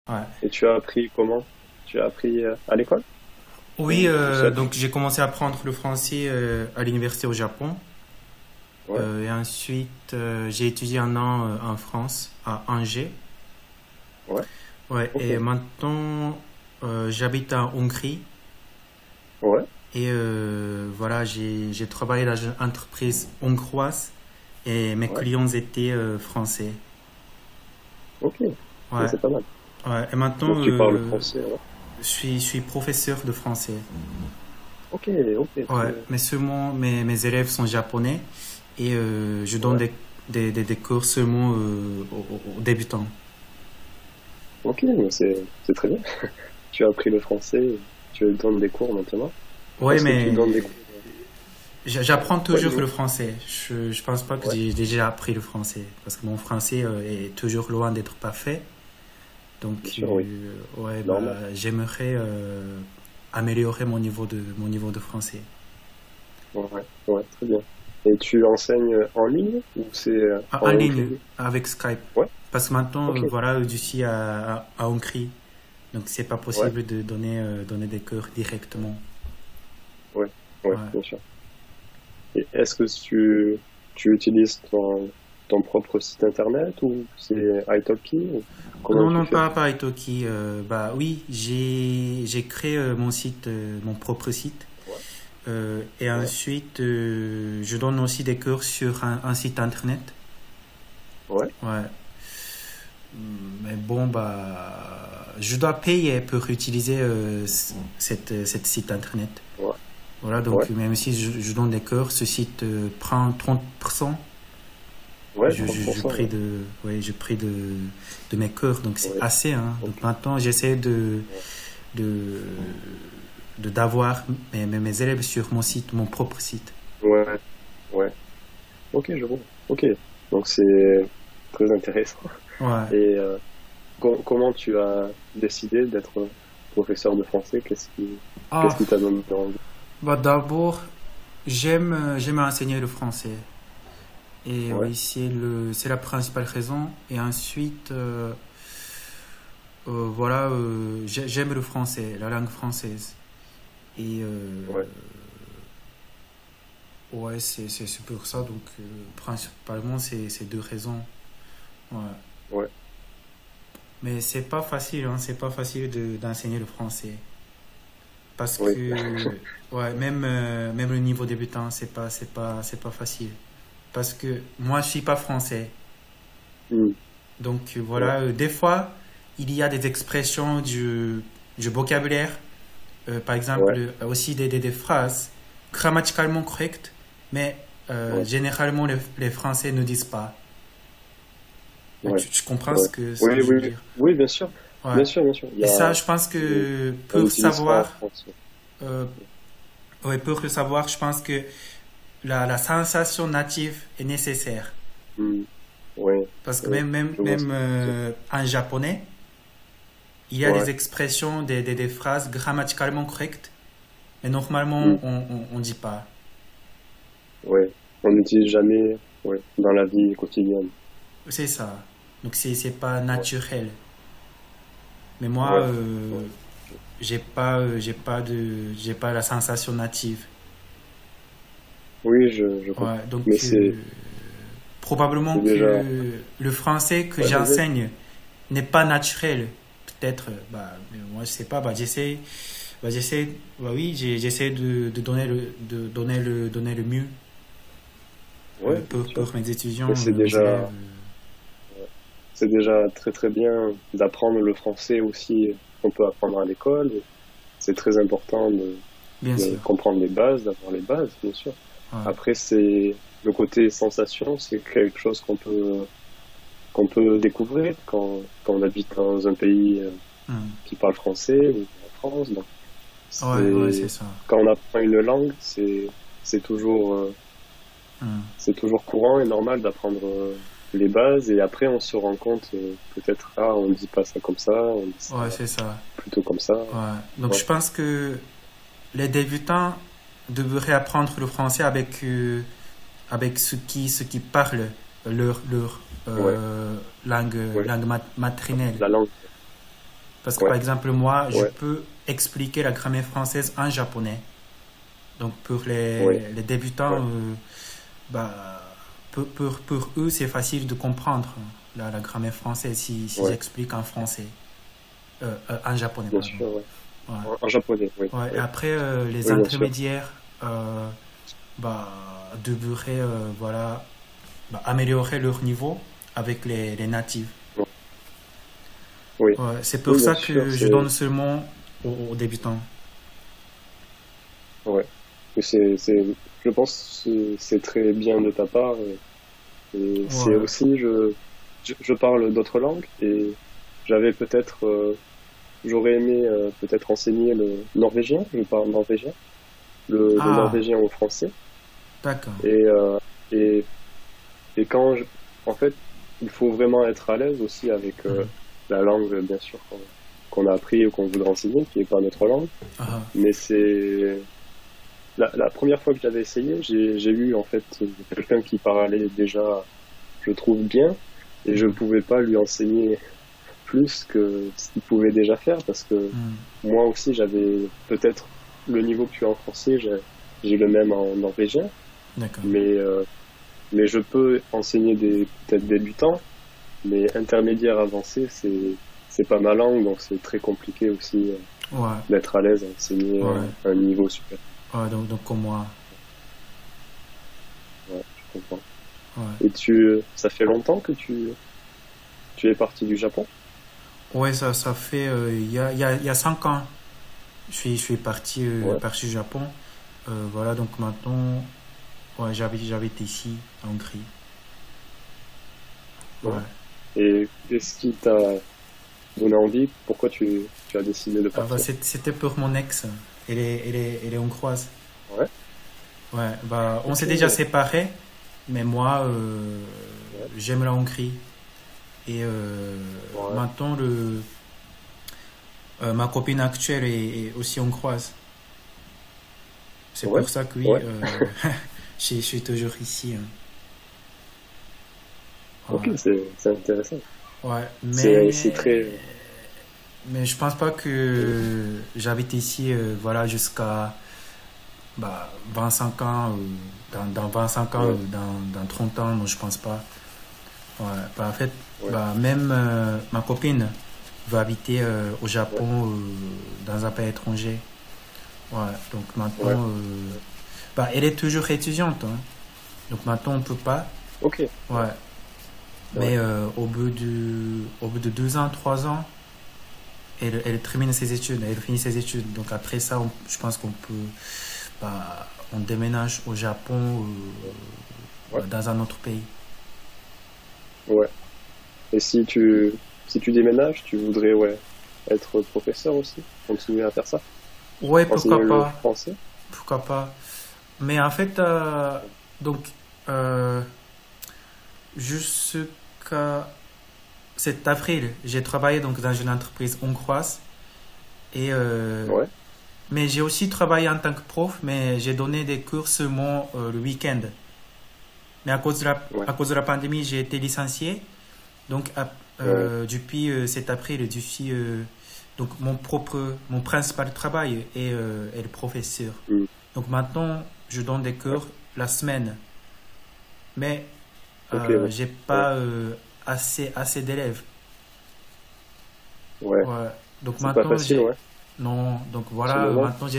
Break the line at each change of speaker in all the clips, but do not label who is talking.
Ouais.
Et tu as appris comment? Tu as appris à l'école
Oui,
ou tout seul?
donc j'ai commencé à apprendre le français à l'université au Japon.
Ouais,
Et ensuite, j'ai étudié un an en France, à Angers.
ouais,
Ouais,
ok.
et maintenant, j'habite en Hongrie.
Ouais,
Et voilà, j'ai travaillé dans une entreprise hongroise et mes
ouais,
clients étaient français.
ok. Ok,
Ouais,
c'est pas mal.
ouais. Et maintenant,
Donc tu parles français, ouais.
je suis professeur de français.
Ok, ok, très
Ouais,
bien.
mais seulement mes élèves sont japonais et je donne
Ouais,
des cours seulement aux débutants.
ok, mais c'est très bien. Tu as appris le français, tu donnes des cours maintenant.
Ouais,
Est-ce que tu
mais
donnes des cours?
j'apprends
Ouais,
toujours
dis-moi.
le français. Je pense pas que
Ouais,
j'ai déjà appris le français parce que mon français est toujours loin d'être parfait.
bien
Donc,
sûr, oui.
ouais,
Normal.
bah, j'aimerais améliorer mon niveau de français.
Ouais, ouais, très bien. Et tu enseignes en ligne ou c'est en
En ligne,
Hongrie?
avec Skype.
Ouais,
Parce que maintenant,
ok.
voilà, je suis à Hongrie. Donc, c'est pas
Ouais,
possible de donner des cours directement.
ouais, ouais,
Ouais.
bien sûr. Et est-ce que tu utilises ton propre site internet ou c'est italki ou comment
Non,
tu
non,
fais?
pas Italki. Bah oui, j'ai créé mon site, mon propre site.
Ouais,
Et
ouais,
ensuite, je donne aussi des cours sur un site internet.
ouais,
Ouais. Mais bon, bah, je dois payer pour utiliser cette site internet.
ouais,
Voilà,
ouais,
donc même si je donne des cours, ce site prend 30%.
ouais, 30%,
Prie
ouais,
de, ouais, je prie de mes cours, donc c'est
ouais,
assez. Hein.
ok,
Donc maintenant, j'essaie
ouais,
de, d'avoir mes élèves sur mon site, mon propre site.
ouais, ouais, ok, je vois, ok, donc c'est très intéressant.
Ouais.
Et comment tu as décidé d'être professeur de français? Qu'est-ce
Ah,
qui t'a donné envie?
bah d'abord, j'aime enseigner le français. Et
Ouais,
oui, c'est la principale raison. Et ensuite, voilà, j'aime le français, la langue française. Et
ouais,
ouais, c'est pour ça. Donc, principalement, c'est ces deux raisons. Ouais.
ouais,
Mais c'est pas facile, hein, c'est pas facile d'enseigner le français. Parce
oui,
que, ouais, même le niveau débutant, c'est pas facile. Parce que moi, je suis pas français.
hmm,
Donc,
ouais,
voilà, des fois, il y a des expressions du vocabulaire, par exemple,
ouais,
aussi des phrases grammaticalement correctes, mais
ouais,
généralement, les Français ne disent pas.
ouais,
Tu comprends
ouais.
ce
Oui,
que je veux
oui,
dire?
oui, bien sûr,
Ouais.
bien sûr, bien sûr.
Et ça, je pense
C'est-
que
on
pour
n'utilise pas en
savoir,
France.
euh, ouais, pour le savoir, je pense que la sensation native est nécessaire.
Hmm, oui,
Parce que
oui, je vois ce
même
que tu veux dire.
en japonais, il y a des
Ouais,
expressions, des phrases grammaticalement correctes, mais normalement,
hmm,
on dit pas.
ouais. On n'utilise jamais, ouais, dans la vie quotidienne.
C'est ça. Donc, c'est pas
Ouais,
naturel. Mais moi,
ouais, ouais.
j'ai pas la sensation native.
Oui, je
Ouais,
comprends.
donc
Mais
probablement
c'est déjà,
que le français que
ouais, vas-y.
j'enseigne n'est pas naturel. Peut-être, bah, mais moi je sais pas, j'essaie, bah oui, j'essaie donner le mieux
Ouais, bien sûr.
pour mes étudiants,
Mais
mes élèves.
c'est déjà très très bien d'apprendre le français aussi qu'on peut apprendre à l'école. C'est très important
Bien
de
sûr.
comprendre les bases, d'avoir les bases, bien sûr.
Ouais.
Après, c'est le côté sensation, c'est quelque chose qu'on peut découvrir quand on habite dans un pays
Hmm.
qui parle français ou en France. Donc,
Ouais, c'est
c'est
ça.
quand on apprend une langue, c'est toujours
Hmm.
c'est toujours courant et normal d'apprendre les bases et après on se rend compte peut-être ah on dit pas ça comme ça, on dit ça
Ouais, c'est ça.
plutôt comme ça.
Ouais. Donc
Ouais,
je pense que les débutants devraient apprendre le français avec ceux qui parlent leur
ouais, ouais,
langue maternelle.
la langue.
Parce que par
Ouais,
exemple, moi, je
ouais,
peux expliquer la grammaire française en japonais. Donc pour
ouais,
les débutants,
ouais,
bah, pour eux, c'est facile de comprendre la grammaire française si
ouais,
j'explique en français, en japonais,
bien
pardon.
sûr, ouais.
Ouais.
En japonais, oui,
Ouais, et
oui,
après, les
oui, bien sûr.
intermédiaires bah, devraient voilà, bah, améliorer leur niveau avec les natifs.
Ouais. Oui,
Ouais, c'est pour
oui, bien
ça
sûr,
que je donne seulement aux débutants.
ouais. Mais je pense que c'est très bien de ta part. Et c'est
Ouais.
aussi, je parle d'autres langues et j'avais peut-être, j'aurais aimé peut-être enseigner le norvégien. Je parle norvégien, le
Ah,
norvégien au français.
d'accord.
Et, euh, et, et en fait, il faut vraiment être à l'aise aussi avec
Mhm.
la langue, bien sûr, qu'on a appris ou qu'on voudrait enseigner, qui n'est pas notre langue.
Ah,
Mais c'est la première fois que j'avais essayé, j'ai eu en fait quelqu'un qui parlait déjà, je trouve bien, et je
mhm.
pouvais pas lui enseigner plus que ce qu'il pouvait déjà faire parce que
Mhm.
moi aussi j'avais peut-être le niveau que tu as en français, j'ai le même en norvégien,
D'accord.
mais mais je peux enseigner des peut-être débutants, mais intermédiaire avancé, c'est pas ma langue, donc c'est très compliqué aussi
Ouais,
d'être à l'aise à enseigner
ouais,
un niveau supérieur.
ouais, donc comme moi.
Ouais, je comprends.
Ouais.
Et ça fait longtemps que tu es parti du Japon?
Ouais, ça fait il y a 5 ans. Je suis
Ouais,
parti au Japon. Voilà, donc maintenant, ouais, j'habite ici, en Hongrie.
ouais.
Ouais.
Et qu'est-ce qui t'a donné envie? Pourquoi tu as décidé de
Ah, bah,
partir?
c'était pour mon ex. Elle est hongroise.
Ouais,
Ouais, bah, on
ok,
s'est déjà séparés, mais moi,
ouais,
j'aime la Hongrie. Et
ouais,
maintenant, ma copine actuelle est aussi hongroise. C'est
ouais,
pour ça que oui,
ouais.
je suis toujours ici, hein.
Ok,
Ouais.
c'est intéressant.
Ouais,
C'est très.
mais je pense pas que j'habite ici voilà, jusqu'à bah, 25 ans, dans 25 ans,
Ouais,
dans 30 ans, non, je pense pas. Ouais, bah, en fait,
ouais,
bah, même ma copine va habiter au
ouais,
Japon, dans un pays étranger. Ouais, donc
ouais,
maintenant, bah, elle est toujours étudiante, hein. Donc maintenant, on peut pas.
ok,
Ouais,
ouais,
mais au bout de 2 ans, 3 ans, elle termine ses études, elle finit ses études. Donc après ça, je pense qu'on peut, bah, on déménage au Japon,
ouais,
dans un autre pays.
ouais. Et si tu déménages, tu voudrais, ouais, être professeur aussi? Continuer à faire ça?
Ouais,
Enseigner
pourquoi
le
pas,
français?
pourquoi pas. Mais en fait, donc, euh, jusqu'à cet avril, j'ai travaillé donc dans une entreprise hongroise et
Ouais,
mais j'ai aussi travaillé en tant que prof, mais j'ai donné des cours seulement le week-end. Mais
ouais,
à cause de la pandémie, j'ai été licencié. Donc,
ouais,
depuis cet avril, donc mon principal travail est le professeur.
hmm,
Donc maintenant, je donne des
ouais,
cours la semaine, mais
ok, ouais,
j'ai
ouais,
pas assez d'élèves.
ouais.
Ouais. Donc
C'est pas
maintenant,
facile, ouais,
non. Donc
en ce
voilà,
moment.
maintenant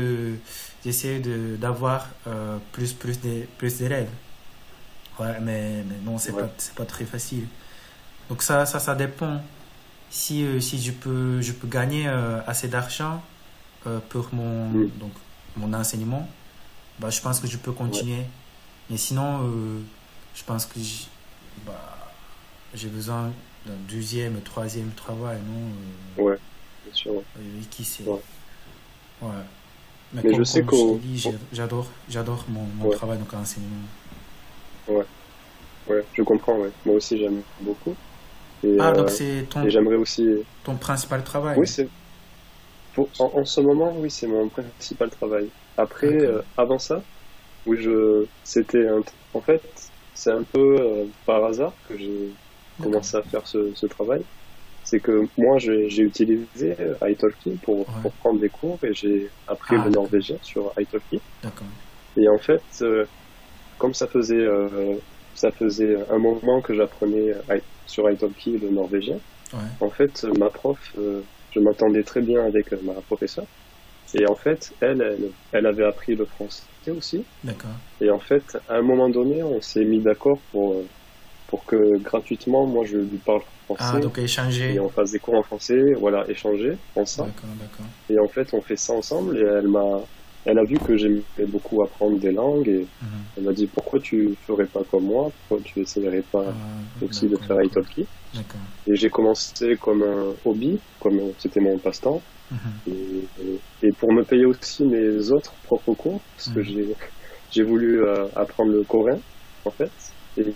d'avoir plus d'élèves. Ouais, mais non,
Ouais,
c'est pas très facile. Donc ça dépend. Si je peux gagner assez d'argent pour
hmm,
donc, mon enseignement, bah, je pense que je peux
ouais,
continuer. Mais sinon, je pense que bah, j'ai besoin d'un deuxième, troisième travail, non
ouais, bien sûr, ouais.
qui sait.
Ouais.
Ouais. Mais
Mais je sais
comme je t'ai
qu'au,
dit, j'adore mon
ouais,
travail donc l'enseignement.
ouais, ouais, je comprends, ouais. Moi aussi, j'aime beaucoup.
Ah, donc c'est
Et j'aimerais aussi,
ton principal travail.
oui, en ce moment, oui, c'est mon principal travail. Après,
D'accord.
avant ça, oui, en fait, c'est un peu par hasard que j'ai
D'accord.
commencé à faire ce travail. c'est que moi, j'ai utilisé Italki pour prendre des cours et j'ai appris le norvégien sur Italki.
D'accord.
Et en fait, comme ça faisait un moment que j'apprenais sur Italki le norvégien, en fait, ma prof, je m'entendais très bien avec ma professeure. Et en fait, elle avait appris le français aussi.
D'accord.
Et en fait, à un moment donné, on s'est mis d'accord pour que gratuitement, moi, je lui parle français.
Ah, donc échanger.
Et on fasse des cours en français, voilà, échanger ensemble.
D'accord.
Et en fait, on fait ça ensemble. Et elle a vu que j'aimais beaucoup apprendre des langues. Et elle m'a dit, pourquoi tu ferais pas comme moi? Pourquoi tu essayerais pas aussi de faire Italki? Et j'ai commencé comme un hobby, comme c'était mon passe-temps. Et pour me payer aussi mes autres propres cours, parce que j'ai voulu apprendre le coréen, en fait. Et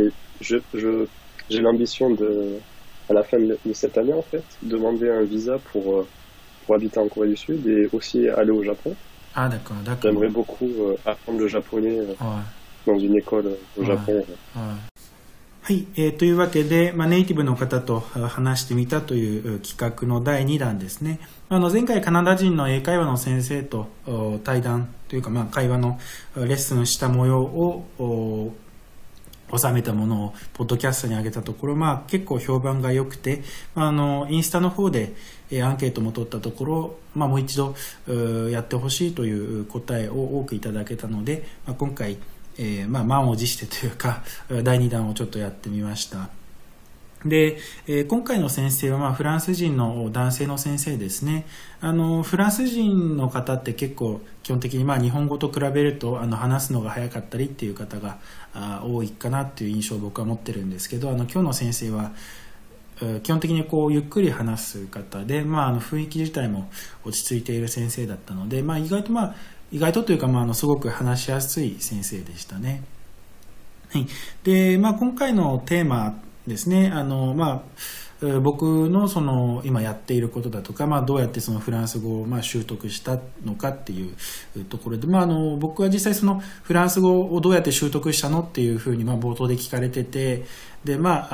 j'ai l'ambition à la fin de cette année, en fait, demander un visa pour habiter en Corée du Sud et aussi aller au Japon.
Ah, d'accord.
J'aimerais beaucoup apprendre le japonais dans une école au Japon.
はい、というわけで、ネイティブの方と話してみたという企画の第2弾ですね。前回カナダ人の英会話の先生と対談というか、会話のレッスンした模様を収めたものをポッドキャストに上げたところ、結構評判が良くて、インスタの方でアンケートも取ったところ、もう一度やってほしいという答えを多くいただけたので、今回満を持してというか第2弾をちょっとやってみました。で、今回の先生はフランス人の男性の先生ですね。フランス人の方って結構基本的に日本語と比べると話すのが早かったりっていう方が多いかなっていう印象を僕は持ってるんですけど、今日の先生は基本的にゆっくり話す方で、雰囲気自体も落ち着いている先生だったので、意外とというか、すごく話しやすい先生でしたね。はい。で、今回のテーマですね、僕の今やっていることだとか、どうやってフランス語を習得したのかっていうところで、僕は実際フランス語をどうやって習得したのっていうふうに冒頭で聞かれてて、で、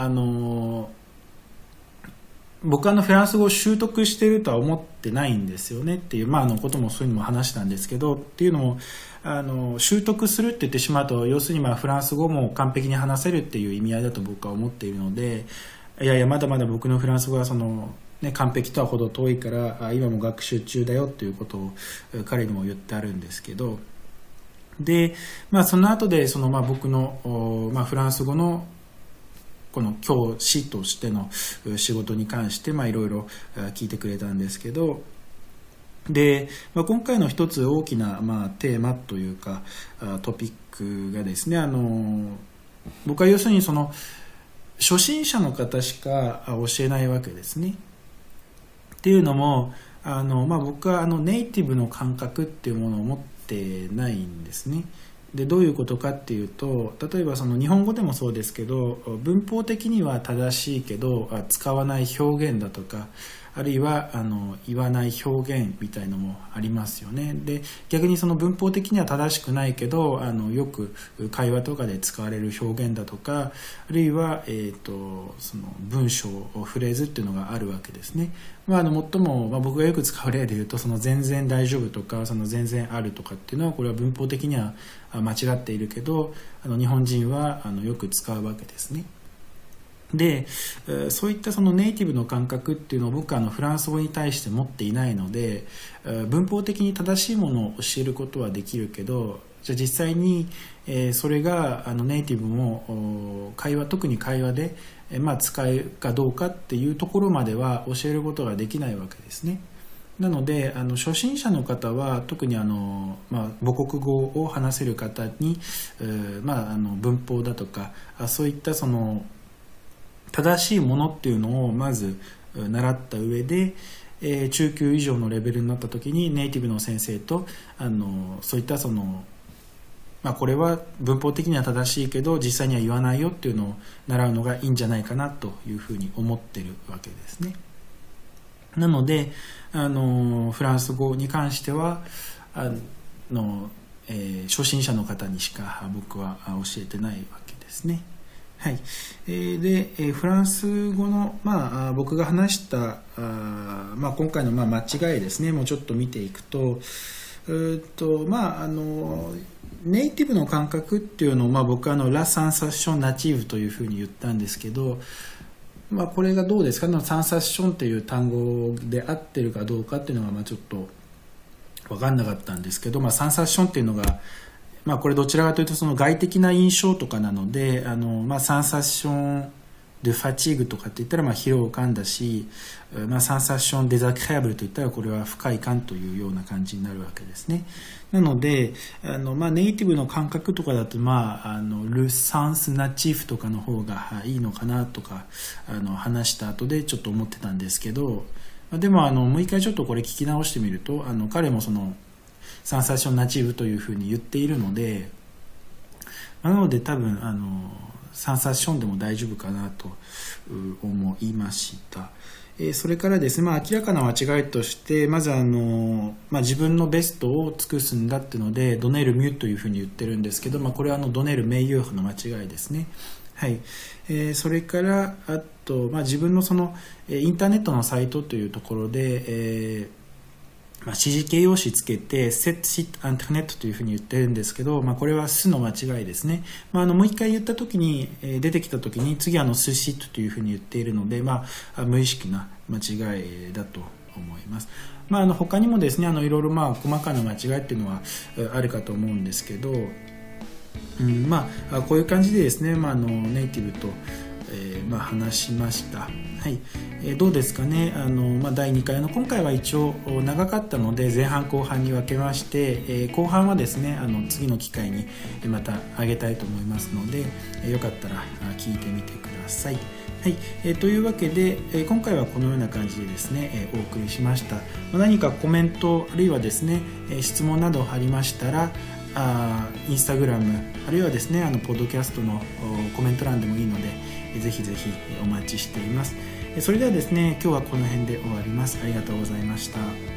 僕はフランス語を習得しているとは思ってないんですよねっていう、こともそういうのも話したんですけど、っていうのも習得するって言ってしまうと、要するにフランス語も完璧に話せるっていう意味合いだと僕は思っているので、いやまだまだ僕のフランス語は完璧とはほど遠いから今も学習中だよっていうことを彼にも言ってあるんですけど、で、その後で僕のフランス語のこの教師としての仕事に関していろいろ聞いてくれたんですけど、で、今回の一つ大きなテーマというかトピックがですね、僕は要するに初心者の方しか教えないわけですね。っていうのも僕はネイティブの感覚っていうものを持ってないんですね。で、どういうことかっていうと、例えば日本語でもそうですけど、文法的には正しいけど使わない表現だとか、あるいは言わない表現みたいのもありますよね。で、逆に文法的には正しくないけどよく会話とかで使われる表現だとか、あるいは、文章フレーズっていうのがあるわけですね。最も、僕がよく使う例で言うと全然大丈夫とか全然あるとかっていうのは、これは文法的には間違っているけど日本人はよく使うわけですね。で、そういったネイティブの感覚っていうのを僕はフランス語に対して持っていないので、文法的に正しいものを教えることはできるけど、じゃあ実際にそれがネイティブも特に会話で使うかどうかっていうところまでは教えることができないわけですね。なので初心者の方は特に母国語を話せる方に、文法だとかそういった正しいものっていうのをまず習った上で、中級以上のレベルになった時にネイティブの先生とそういったこれは文法的には正しいけど実際には言わないよっていうのを習うのがいいんじゃないかなというふうに思ってるわけですね。なのでフランス語に関しては初心者の方にしか僕は教えてないわけですね。 はい。で、フランス語の、僕が話した今回の間違いですね、もうちょっと見ていくと、ネイティブの感覚っていうのを、僕はラ・サンサッション・ナチーブというふうに言ったんですけど、これがどうですかね、サンサッションっていう単語で合ってるかどうかっていうのがちょっと分かんなかったんですけど、サンサッションっていうのが、これどちらかというとその外的な印象とかなので、サンサッション・デ・ファチーグとかって言ったら疲労感だし、サンサッション・デザクレアブルといったらこれは不快感というような感じになるわけですね。なのでネイティブの感覚とかだとル・サンス・ナチーフとかの方がいいのかなとか話した後でちょっと思ってたんですけど、でももう一回ちょっとこれ聞き直してみると彼もそのサンサッション・ナチーフというふうに言っているので、なので多分サンサッションでも大丈夫かなと思いました。それからですね、明らかな間違いとしてまず自分のベストを尽くすんだっていうのでドネルミュというふうに言ってるんですけど、これはドネル名誉の間違いですね。はい。それからあと、自分のそのインターネットのサイトというところで、指示形容詞つけて set site internet というふうに言ってるんですけど、これはすの間違いですね。もう一回言った時に出てきた時に次すシットというふうに言っているので、無意識な間違いだと思います。他にもですねいろいろ細かな間違いっていうのはあるかと思うんですけど、こういう感じでですね、ネイティブと話しました。はい。どうですかね。第2回の今回は一応長かったので前半後半に分けまして、後半はですね次の機会にまた上げたいと思いますので、よかったら聞いてみてください。はい。というわけで今回はこのような感じでですねお送りしました。何かコメントあるいはですね質問などありましたらインスタグラムあるいはですねポッドキャストのコメント欄でもいいのでぜひぜひお待ちしています。それではですね今日はこの辺で終わります。ありがとうございました。